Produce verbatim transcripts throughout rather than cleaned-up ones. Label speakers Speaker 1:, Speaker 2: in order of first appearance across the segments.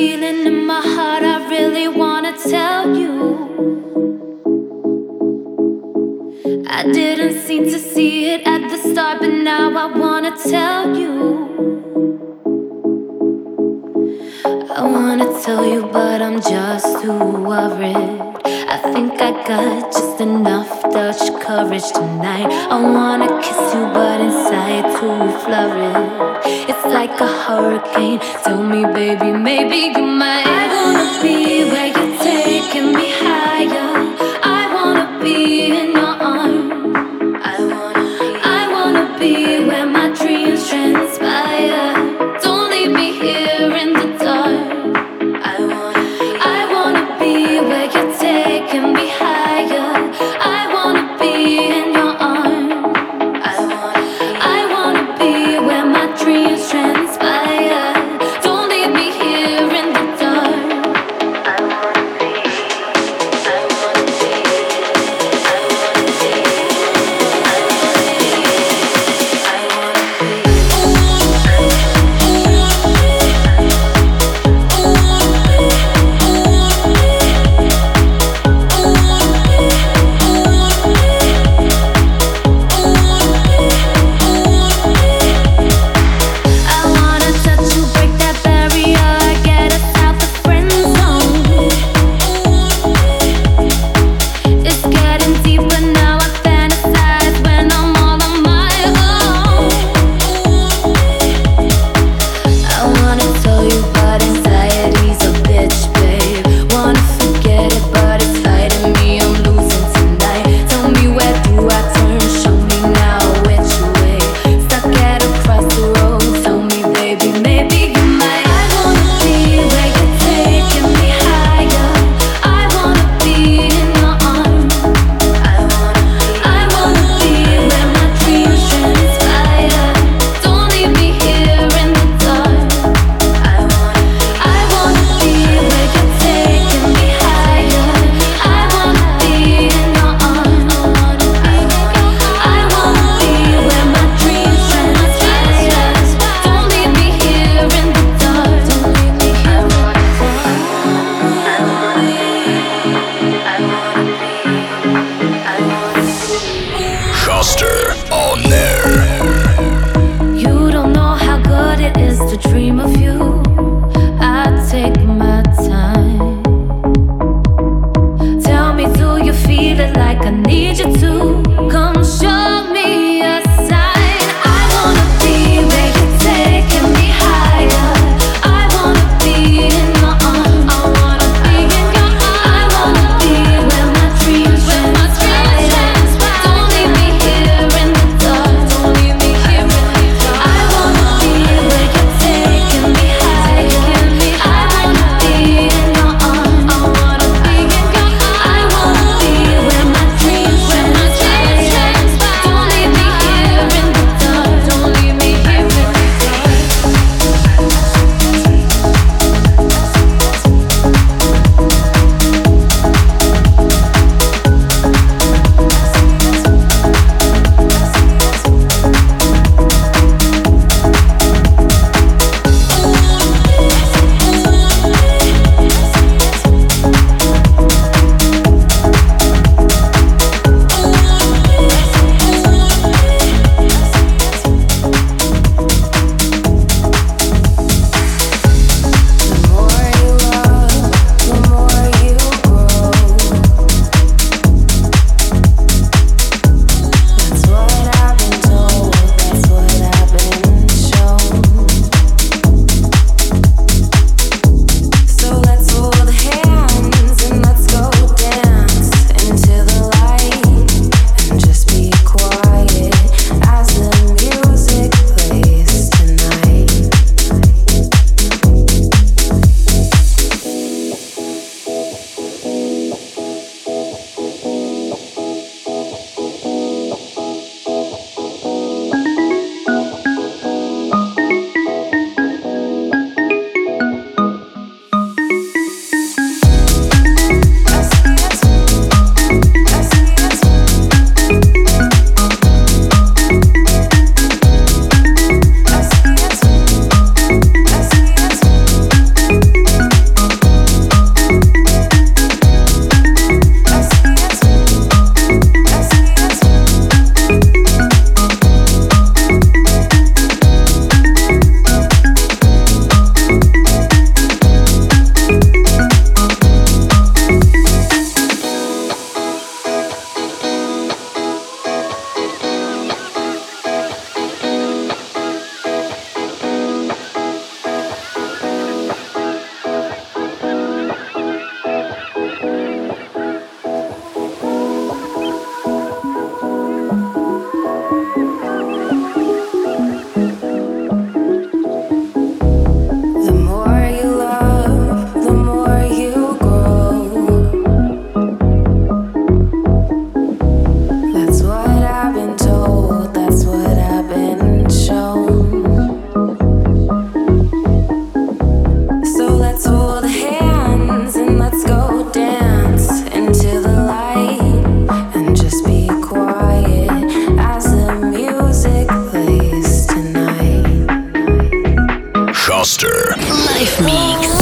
Speaker 1: feeling in my heart, I really wanna tell you. I didn't seem to see it at the start, but now I wanna tell you. I wanna tell you, but I'm just too worried. I think I got just enough Dutch courage tonight. I wanna kiss you, but inside too flurried. It's like a hurricane. Tell me, baby, maybe you might. I wanna be where you're taking me higher. I wanna be in your arms. I wanna be, I wanna be where my dreams transpire. Don't leave me here in the dark. I wanna be, I wanna be where you're taking me higher. I wanna be in your arms. I wanna, I wanna be where my dreams transpire. Don't leave me here in the dark. I wanna be, I wanna be, I wanna be, I wanna be, I wanna be.
Speaker 2: Foster.
Speaker 3: Live Mix.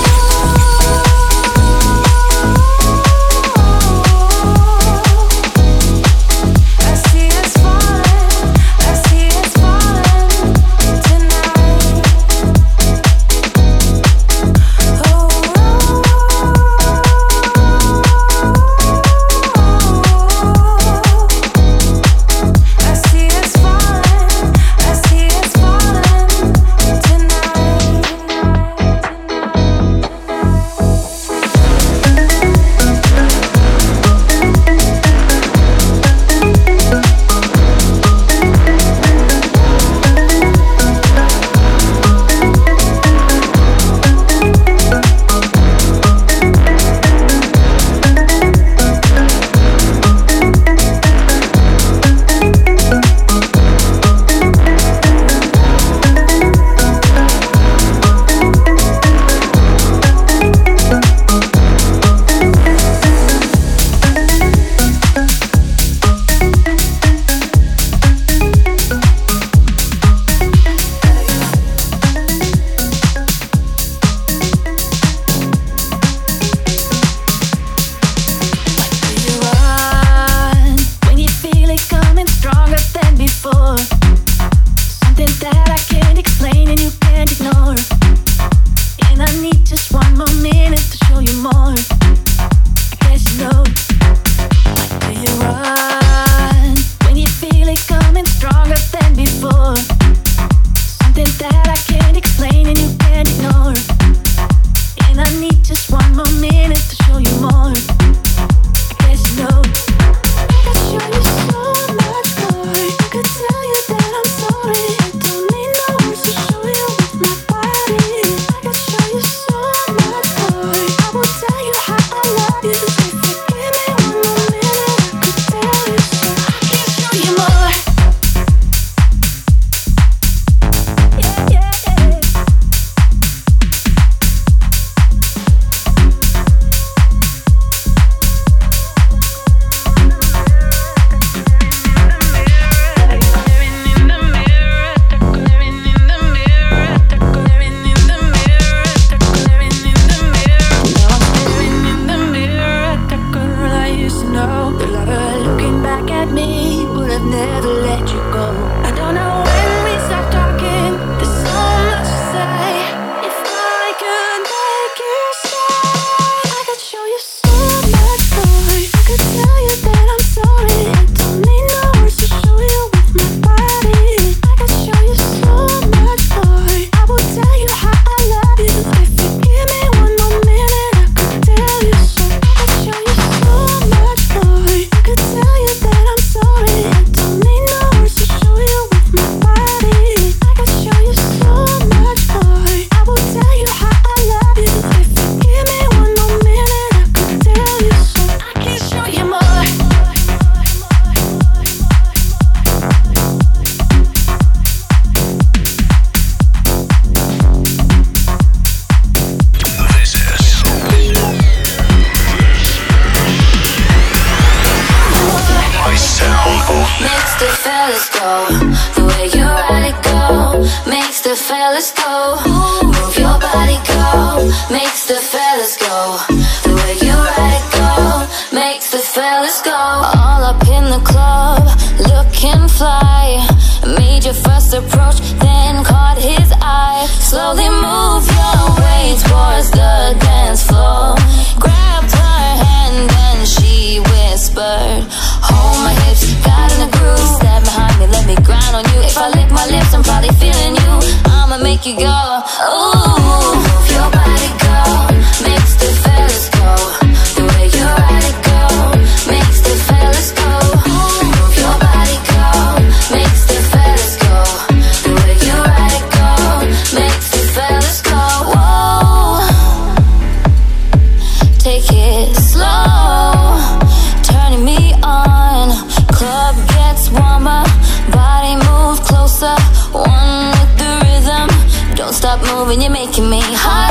Speaker 1: Moving, you're making me hot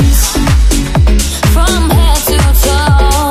Speaker 1: from head to toe.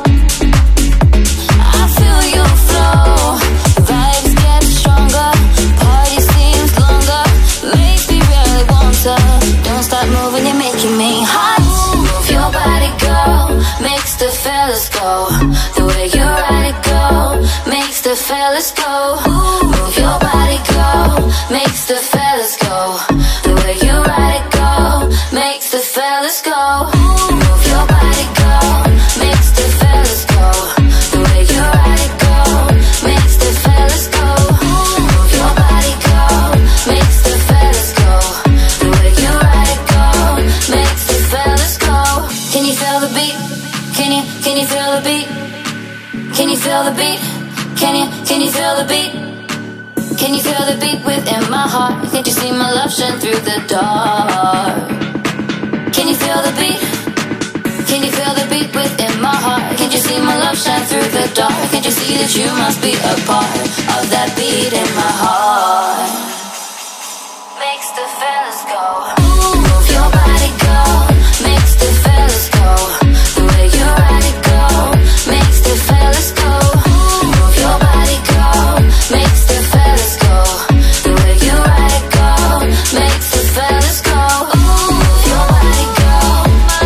Speaker 1: I feel you flow, vibes get stronger, party seems longer, makes me really want to. Don't don't stop moving, you're making me hot. Move your body, girl, makes the fellas go. The way you ride it, go, makes the fellas go. Move your body, girl, makes the fellas go. The way you ride it, go, makes the fellas go. Move your body, girl, makes the fellas go. The way you ride it, go, makes the fellas go. Move your body, girl, makes the fellas go. The way you ride it, go, makes the fellas go. Can you feel the beat? Can you, can you feel the beat? Can you feel the beat? Can you, can you feel the beat? Can you feel the beat within my heart? Can't you see my love shine through the dark? Can you feel the beat? Can you feel the beat within my heart? Can't you see my love shine through the dark? Can't you see that you must be a part of that beat in my heart? Makes the fellas go. Move your body, girl, makes the fellas go. The way you ride it, go, makes the fellas go. Move your body, girl, makes the fellas go. The way you ride it, go, makes the fellas go. Move your body, girl.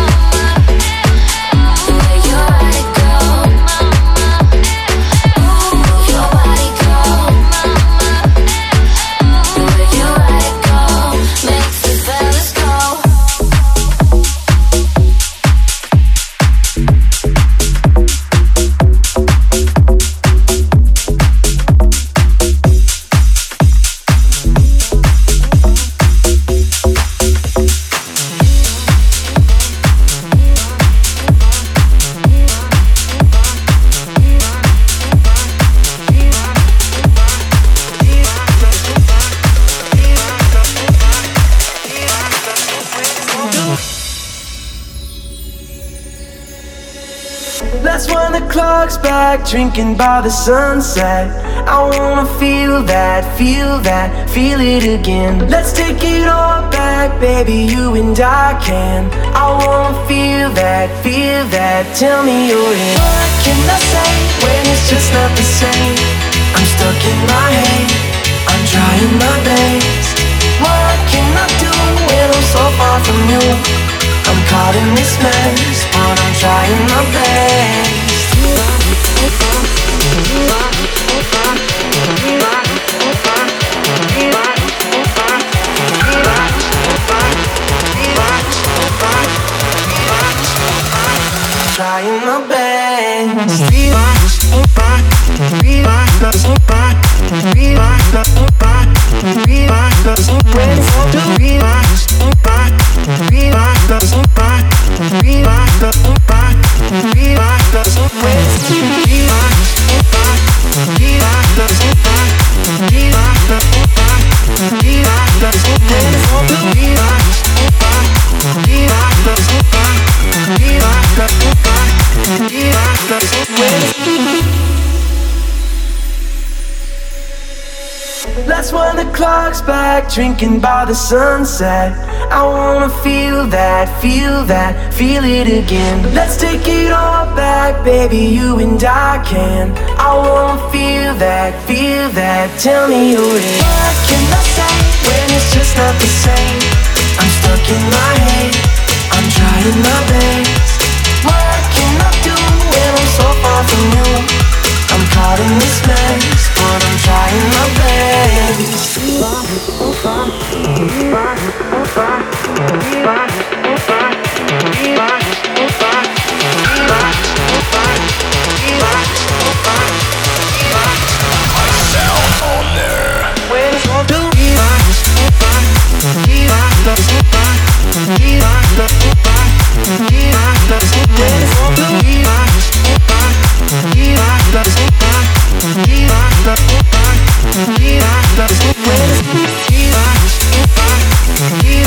Speaker 1: The way you ride it, go. Move your body, girl. The way you ride it, go, makes the fellas go.
Speaker 2: Let's wind the clocks back, drinking by the sunset. I wanna feel that, feel that, feel it again. Let's take it all back, baby, you and I can. I wanna feel that, feel that, tell me you're in. What can I say when it's just not the same? I'm stuck in my head, I'm trying my best. What can I do when I'm so far from you? I'm caught in this mess, but I'm trying my best. Trying my best. Let's wind the clocks back, drinking by the sunset. I wanna feel that, feel that, feel it again. Let's take it all back, baby, you and I can. I wanna feel that, feel that, tell me you're in. What can I say when it's just not the same? I'm stuck in my head, I'm trying my best. What can I do when I'm so far from you? I'm caught in this mess, but I'm trying my best.
Speaker 3: Sound on there. Yeah.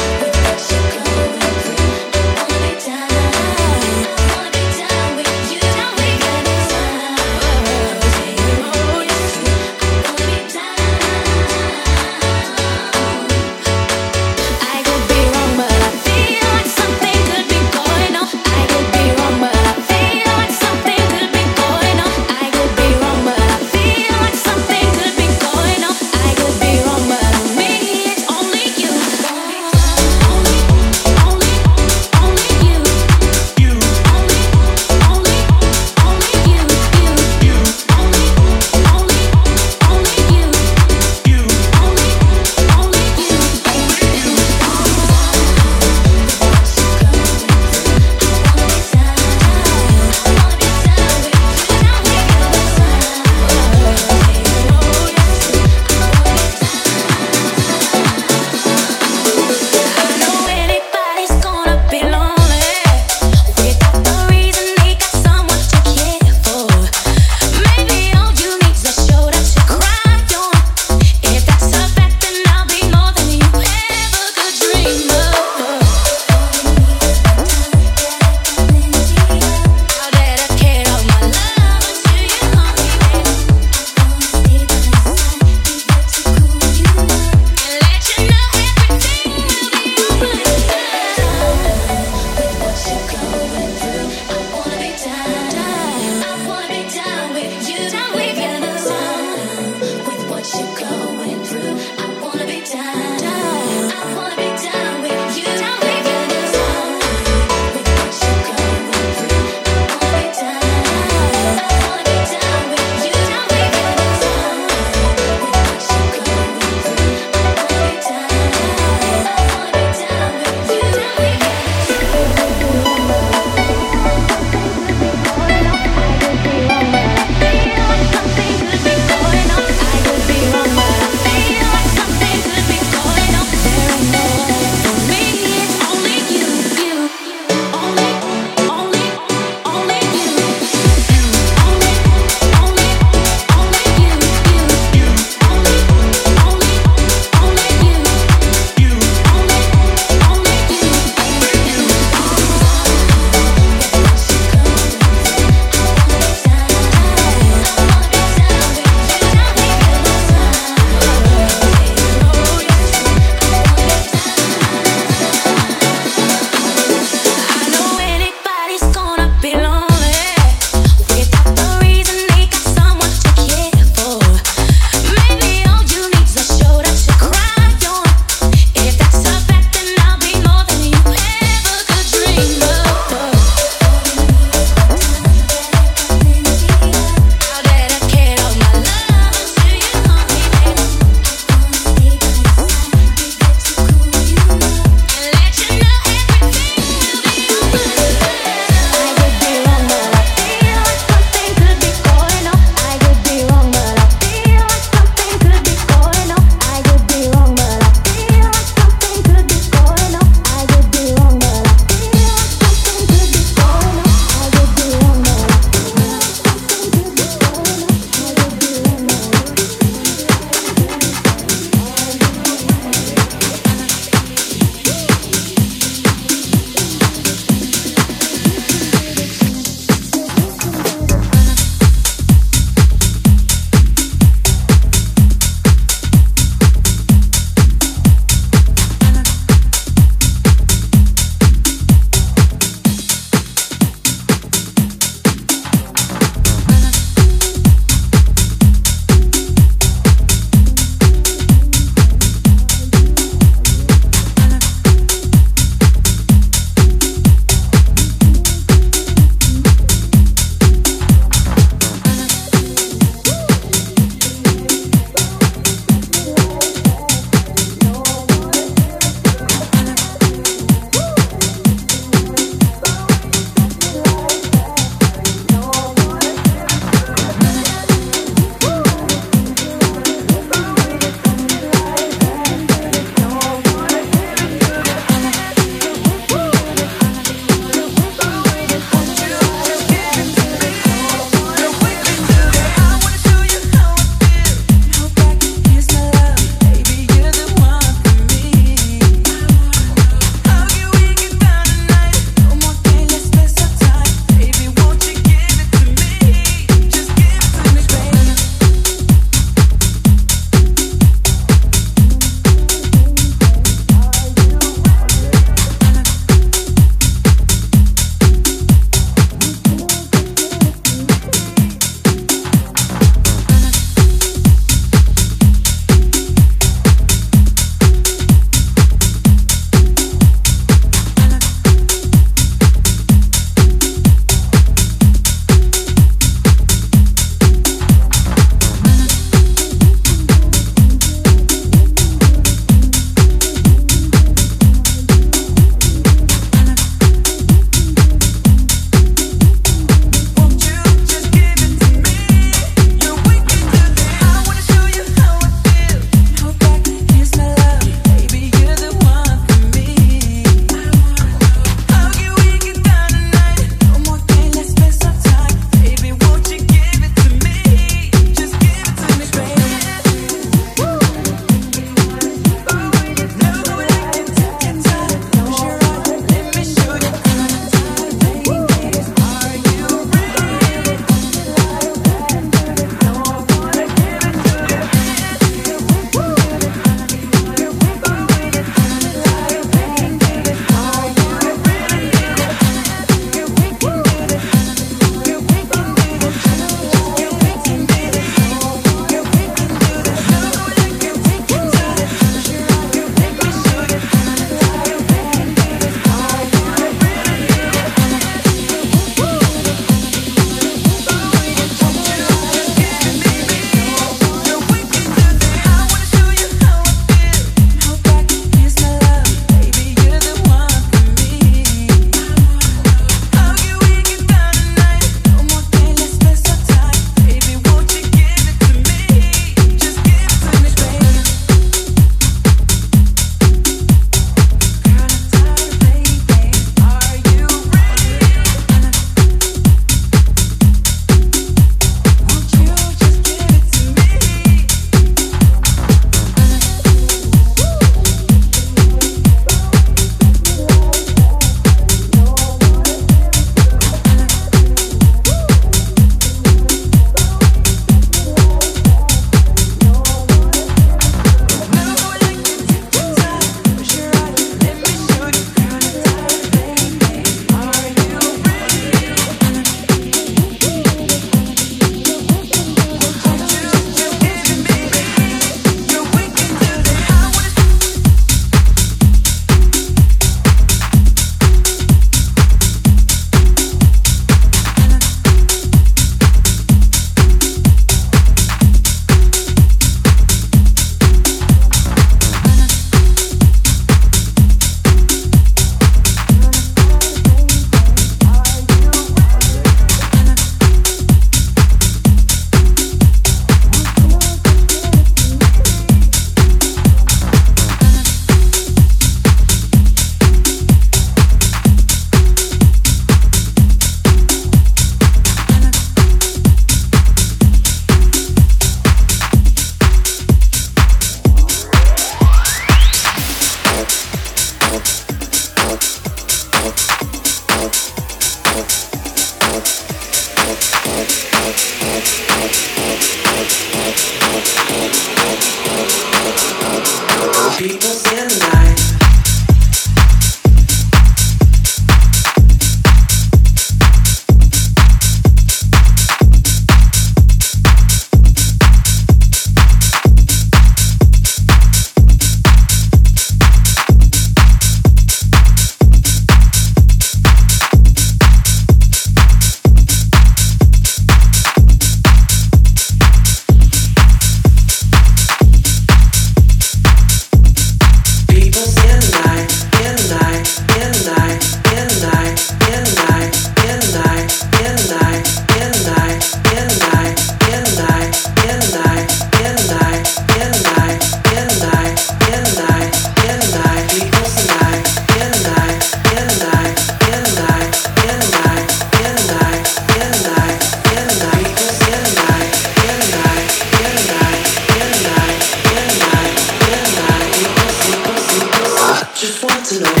Speaker 2: just want to know.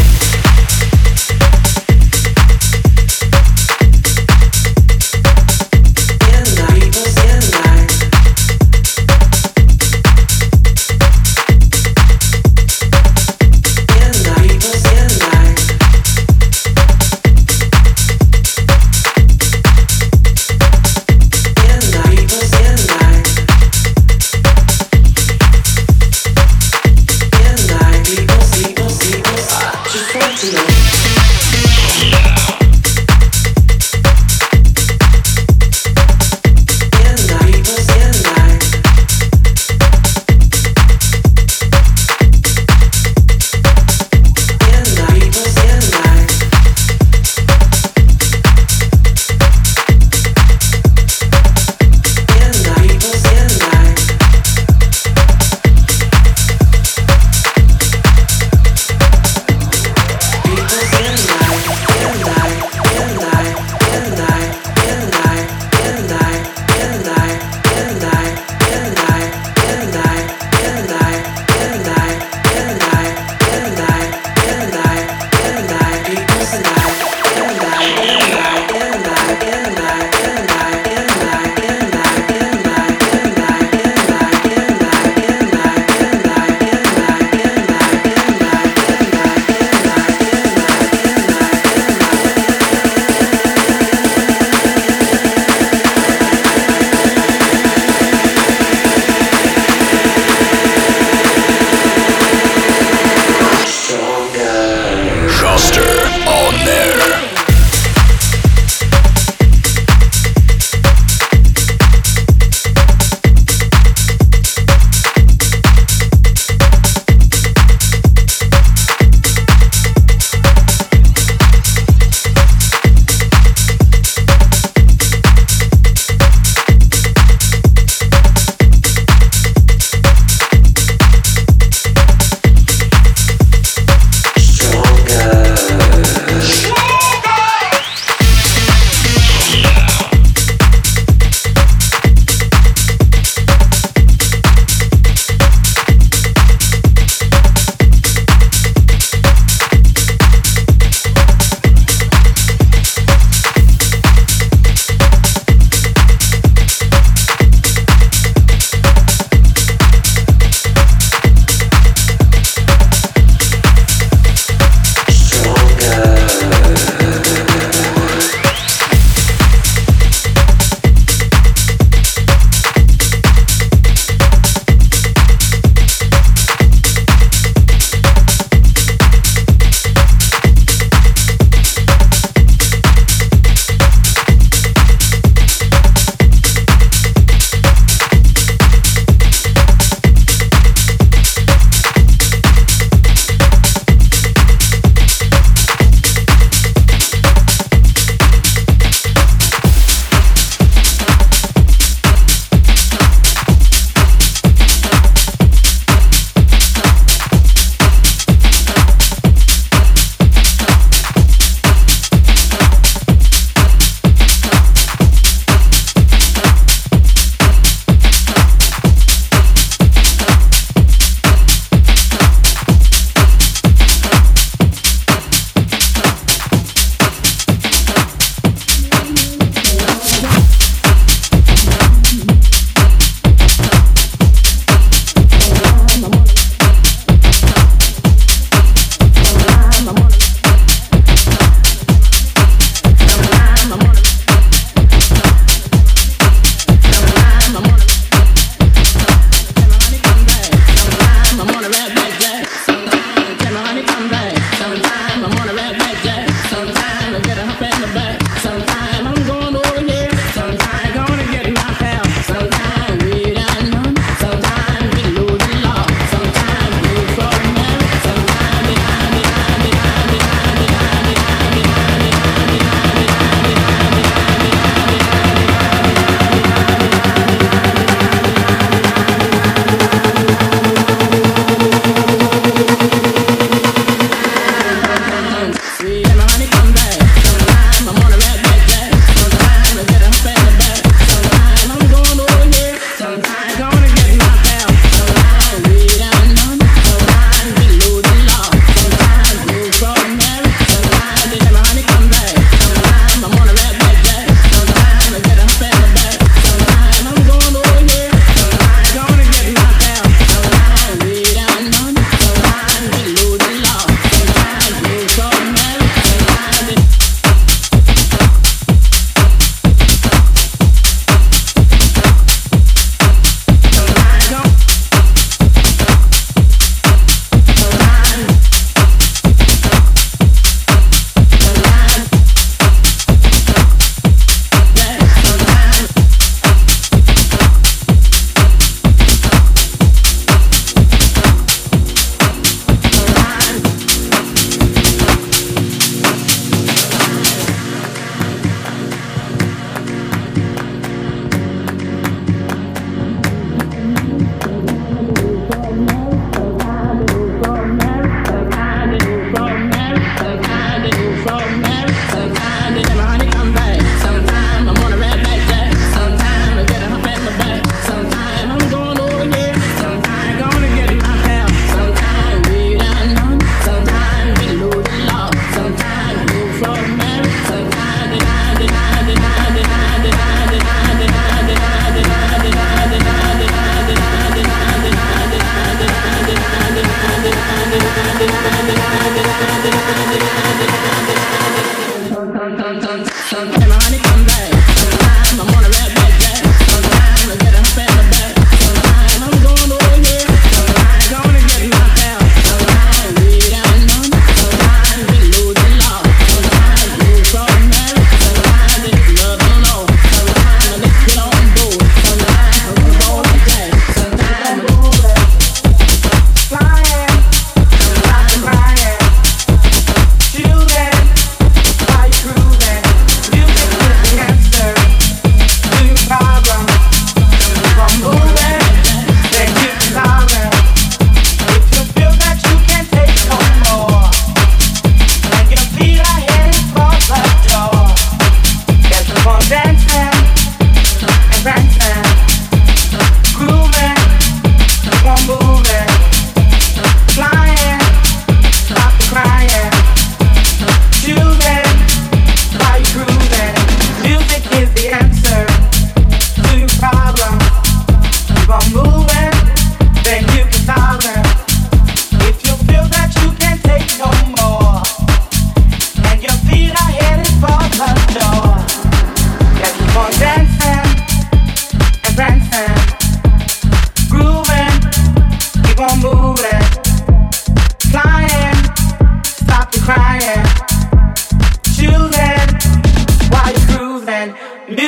Speaker 2: People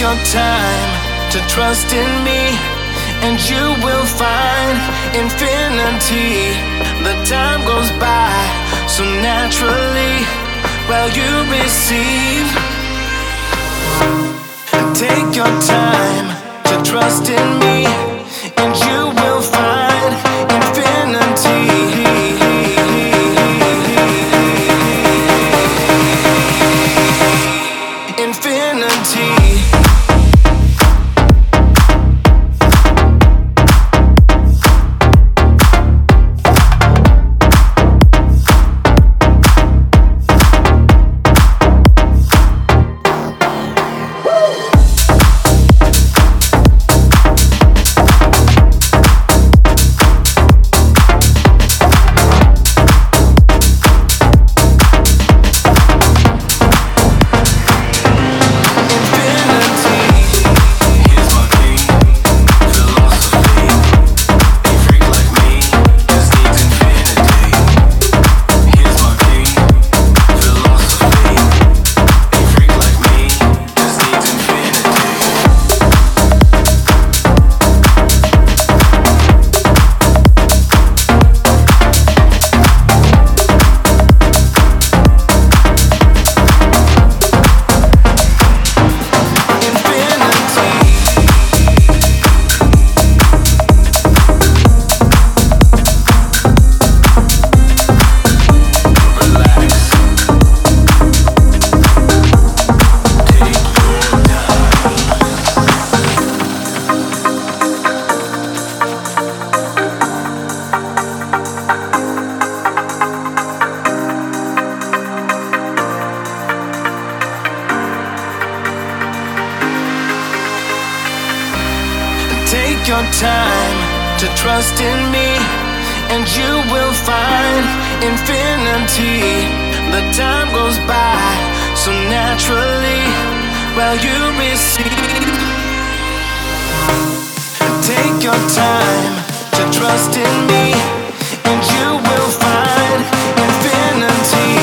Speaker 2: your time to trust in me, and you will find infinity. The time goes by so naturally while you receive. Take your time to trust in me, and you will find infinity. Infinity. Take your time to trust in me, and you will find infinity. The time goes by so naturally while you receive. Take your time to trust in me, and you will find infinity.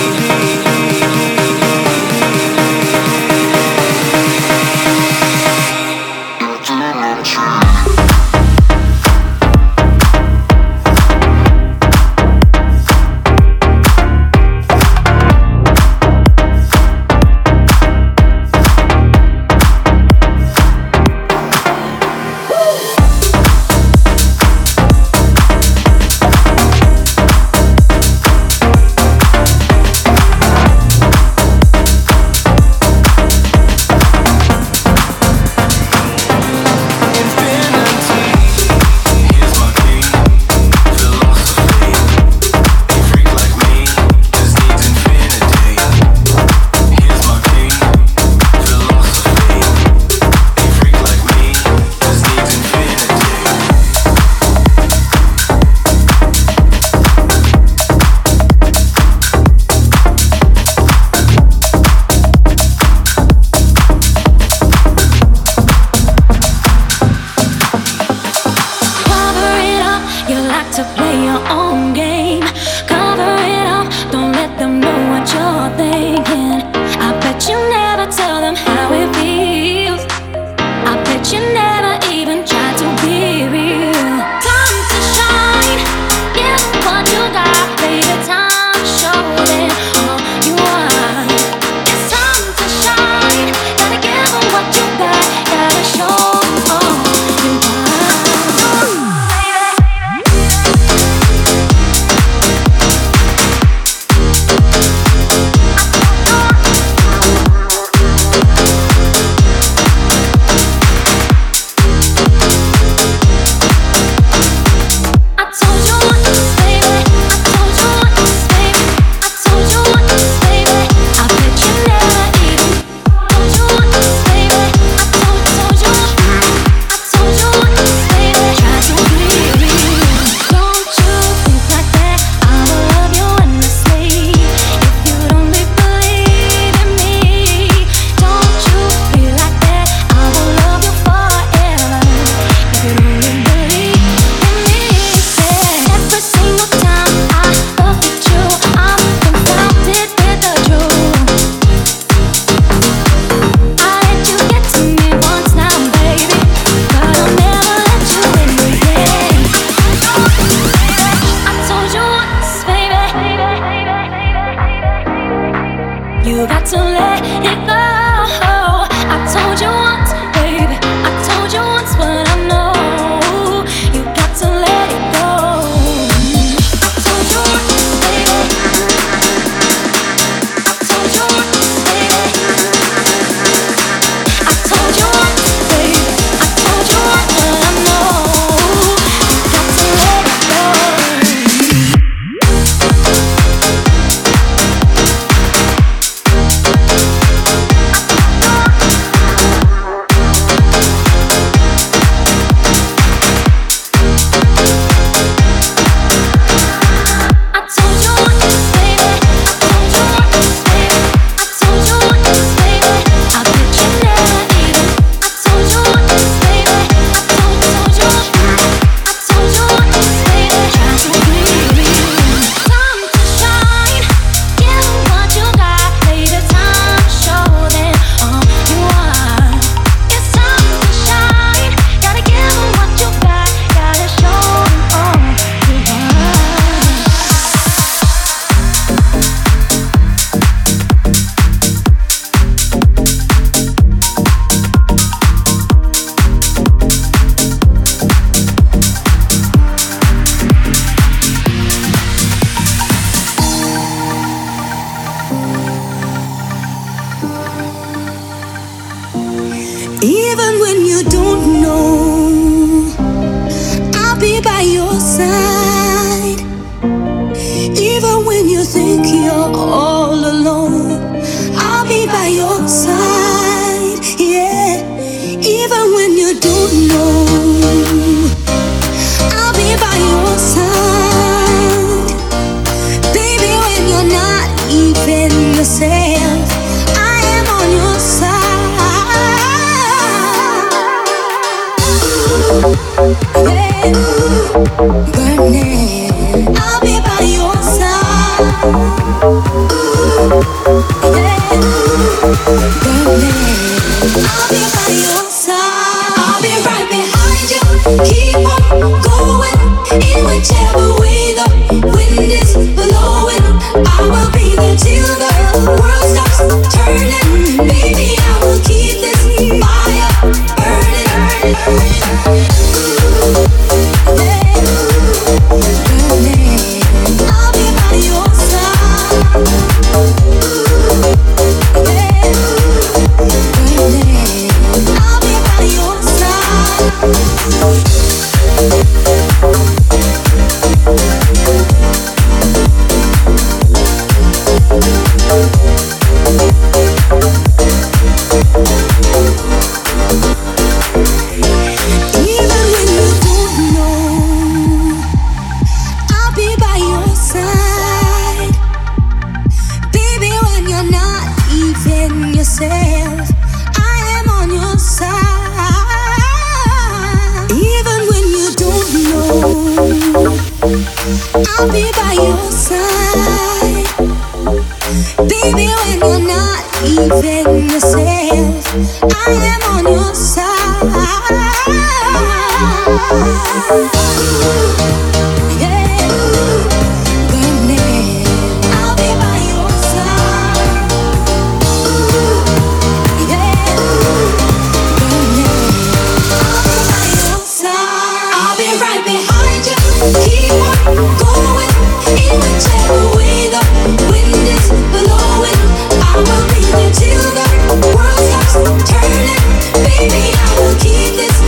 Speaker 1: Till the world stops turning, baby, I will keep this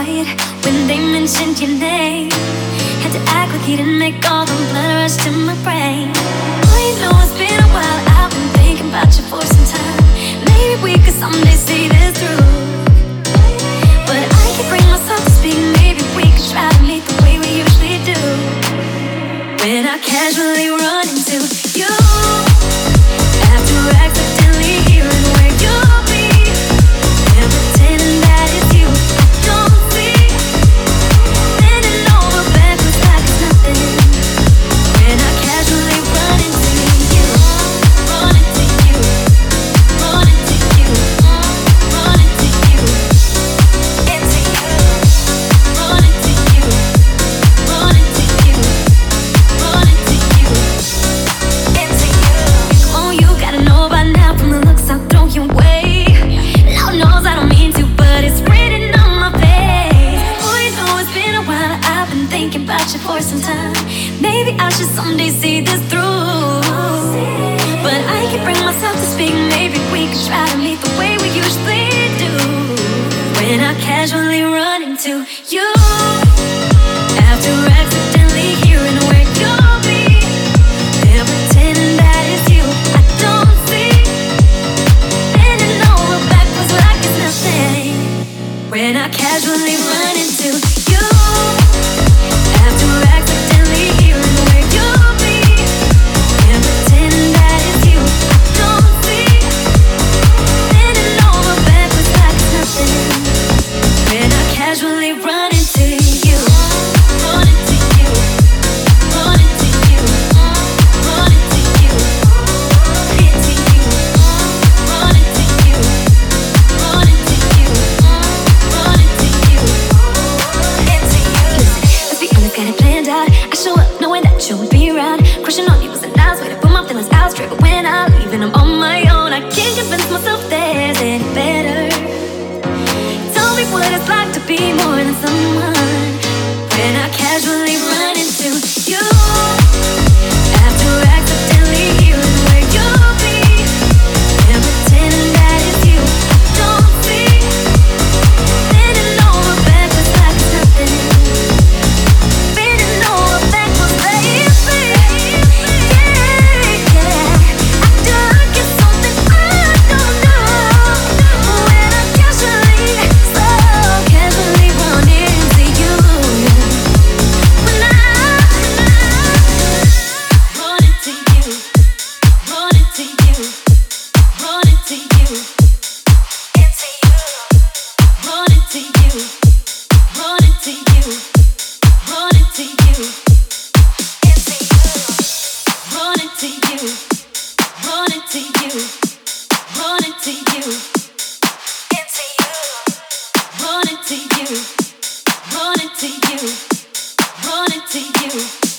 Speaker 1: quiet when they mentioned your name. Had to act like you didn't make all the blood rush to my brain. Oh, you know it's been a while, I've been thinking about you for some time. Maybe we could someday see this through. But I can't bring myself to speak. Maybe we could try to meet the way we usually do. When I casually run into you, after accidentally hearing where you'll be, and pretending that it's you I don't see, bending over backwards like it's nothing. When I casually run into you, run into you, run into you, run into you, into you, run into you, run into you, run into you, into you. Oh, you gotta know by now from the looks I'll throw you away. Lord knows I don't mean to, but it's written on my face. Oh, you know it's been a while, I've been thinking about you for some time. Maybe I should someday see this through. But I can't bring myself to speak. Maybe we could try to meet the way we usually do. When I casually run into you, after accidentally hearing where you'll be, and pretending that it's you I don't see, bending over backwards like it's nothing. When I casually run into you, after accidentally hearing where you'll be, and pretending that it's you I don't see, bending over backwards like it's nothing. When I casually run into you, run into you, run into you, run into you, into you, run into you, run into you, run into you, into you. Listen, let's be honest, got it planned out. I show up knowing that you'll be around. Crushing on you was a nice way to put my feelings out straight. But when I leave and I'm on my own, I can't convince myself there's any better. Tell me what it's like to be more than someone. When I casually run into you, after accidentally hearing where you'll be, and pretending that it's you I don't see, bending over backwards like it's nothing, bending over backwards, baby. Yeah, yeah. Acting like it's something I don't know. When I casually, so casually run into you, when I run into you, run into you, run into you, into you, run into you, run into you, run into you, into you, run into you, run into you, run into you, into you, run into you, run into you, run into you.